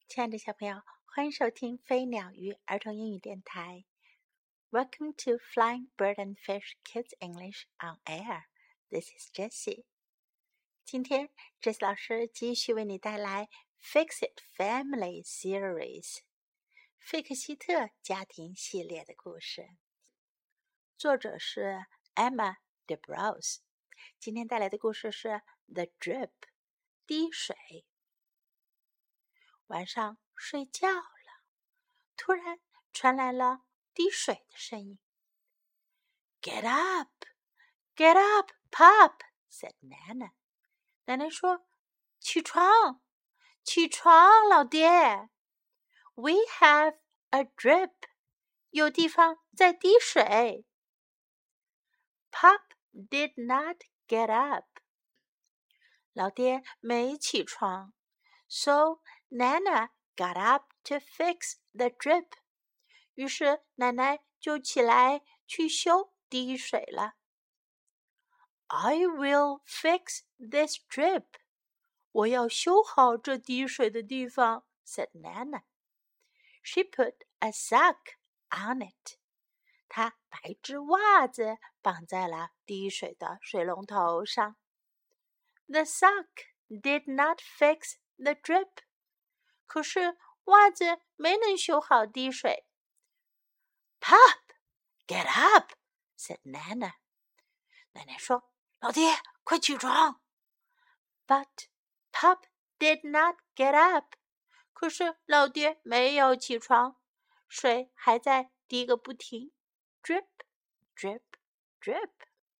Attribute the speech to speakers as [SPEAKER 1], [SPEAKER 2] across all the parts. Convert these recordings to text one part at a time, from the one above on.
[SPEAKER 1] 亲爱的小朋友，欢迎收听飞鸟鱼儿童英语电台。Welcome to Flying Bird and Fish Kids English on Air. This is Jessie. 今天 Jessie 老师继续为你带来 Fix It Family Series 费克希特家庭系列的故事。作者是 Emma DeBrose。今天带来的故事是 The Drip 滴水。晚上睡觉了，突然传来了滴水的声音。Get up, get up, Pop, said Nana. 奶奶说：“起床，起床，老爹。We have a drip. 有地方在滴水。” Pop did not get up. 老爹没起床。So Nana got up to fix the drip. 于是奶奶就起来去修滴水了。I will fix this drip. 我要修好这滴水的地方 said Nana. She put a sock on it. 她把一只袜子绑在了滴水的水龙头上。The sock did not fix the drip. 可是袜子没能修好滴水。Pop, get up, said Nana. 奶奶说：“老爹，快起床。” But Pop did not get up. 可是老爹没有起床，水还在滴个不停。Drip, drip, drip.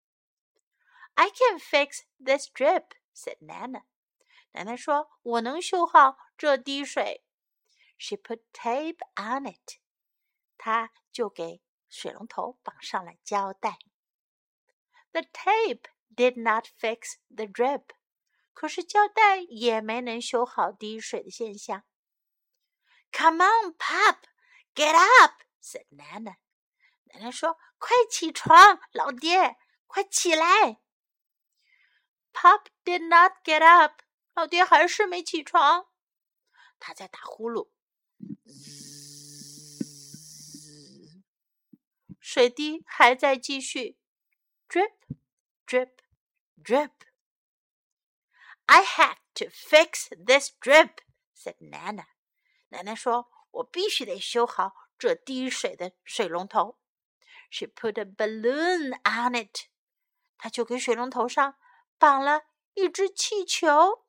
[SPEAKER 1] I can fix this drip, said Nana. 奶奶说：“我能修好这滴水。” She put tape on it. 她就给水龙头绑上了胶带。The tape did not fix the drip. 可是胶带也没能修好滴水的现象。Come on, Pop, get up, said Nana. 奶奶说：“快起床，老爹，快起来。” Pop did not get up. 老爹还是没起床。他在打呼噜。水滴还在继续 drip, drip, drip. I have to fix this drip, said Nana. 奶奶说：“我必须得修好这滴水的水龙头。” She put a balloon on it. 她就给水龙头上绑了一只气球。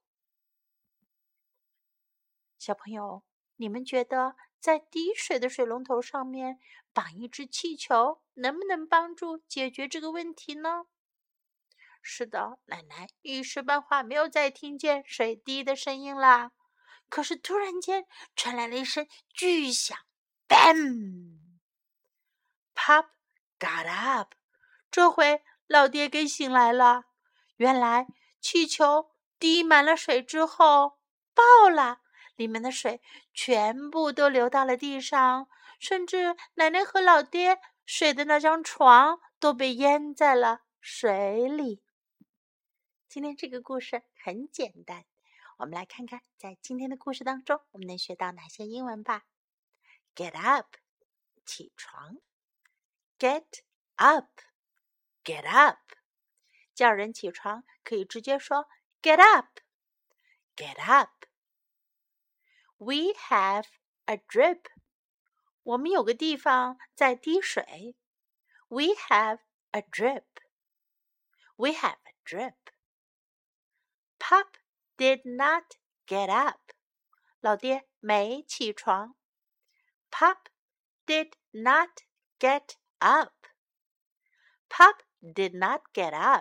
[SPEAKER 1] 小朋友，你们觉得在滴水的水龙头上面绑一只气球能不能帮助解决这个问题呢？是的，奶奶一时半会没有再听见水滴的声音啦。可是突然间传来了一声巨响 ，bam！ Pop got up， 这回老爹给醒来了。原来气球滴满了水之后爆了，里面的水全部都流到了地上，甚至奶奶和老爹睡的那张床都被淹在了水里。今天这个故事很简单，我们来看看在今天的故事当中我们能学到哪些英文吧。Get up， 起床。Get up， get up。 叫人起床可以直接说 Get up， get up。 We have a drip， 我们有个地方在滴水。We have a drip， We have a drip。 Pop did not get up， 老爹没起床。Pop did not get up， Pop did not get up。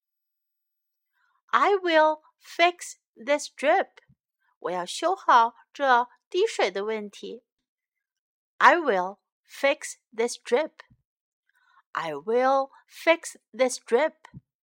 [SPEAKER 1] I will fix this drip， 我要修好这滴水的问题。I will fix this drip， I will fix this drip。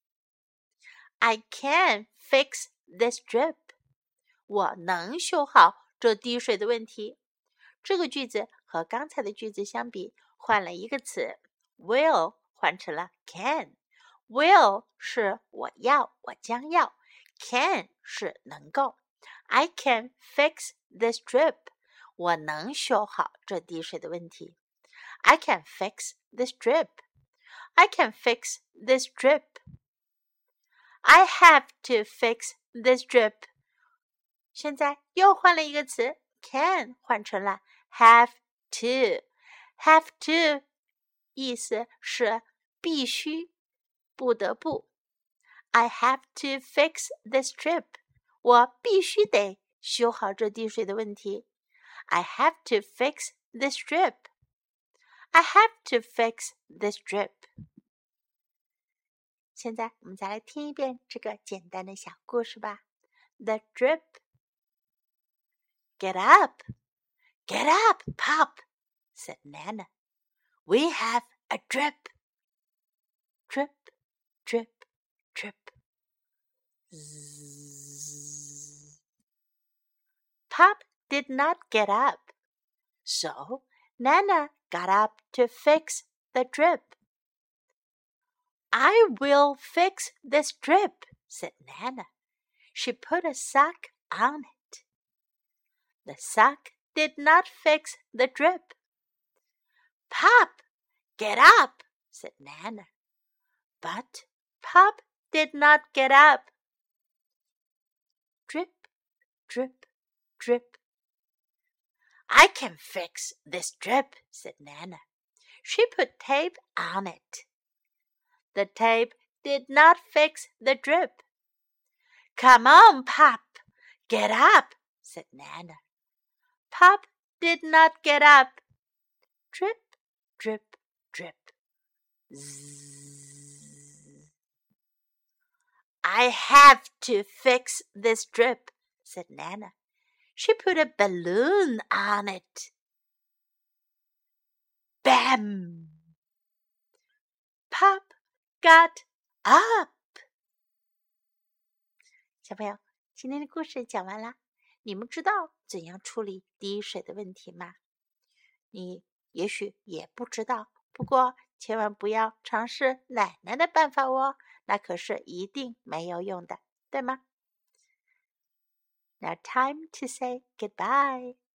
[SPEAKER 1] I can fix this drip， 我能修好这滴水的问题。这个句子和刚才的句子相比，换了一个词 will 换成了 can。Will 是我要，我将要。Can 是能够。I can fix this drip， 我能修好这滴水的问题。I can fix this drip. I can fix this drip. I have to fix this drip. 现在又换了一个词 can 换成了 have to. Have to 意思是必须不得不。I have to fix this drip. 我必须得修好这滴水的问题。I have to fix this drip. I have to fix this drip. 现在我们再来听一遍这个简单的小故事吧。The drip. Get up, get up, Pop, said Nana. We have a drip. Drip, drip, drip. Zzz. Pop did not get up, so Nana got up to fix the drip. I will fix this drip, said Nana. She put a sock on it. The sock did not fix the drip. Pop, get up, said Nana. But Pop did not get up. Drip, drip, drip. I can fix this drip, said Nana. She put tape on it. The tape did not fix the drip. Come on, Pop, get up, said Nana. Pop did not get up. Drip, drip, drip. Zzz. I have to fix this drip, said Nana. She put a balloon on it. Bam! Pop got up. 小朋友，今天的故事讲完了。你们知道怎样处理滴水的问题吗？你也许也不知道，不过千万不要尝试奶奶的办法哦，那可是一定没有用的，对吗？Now time to say goodbye.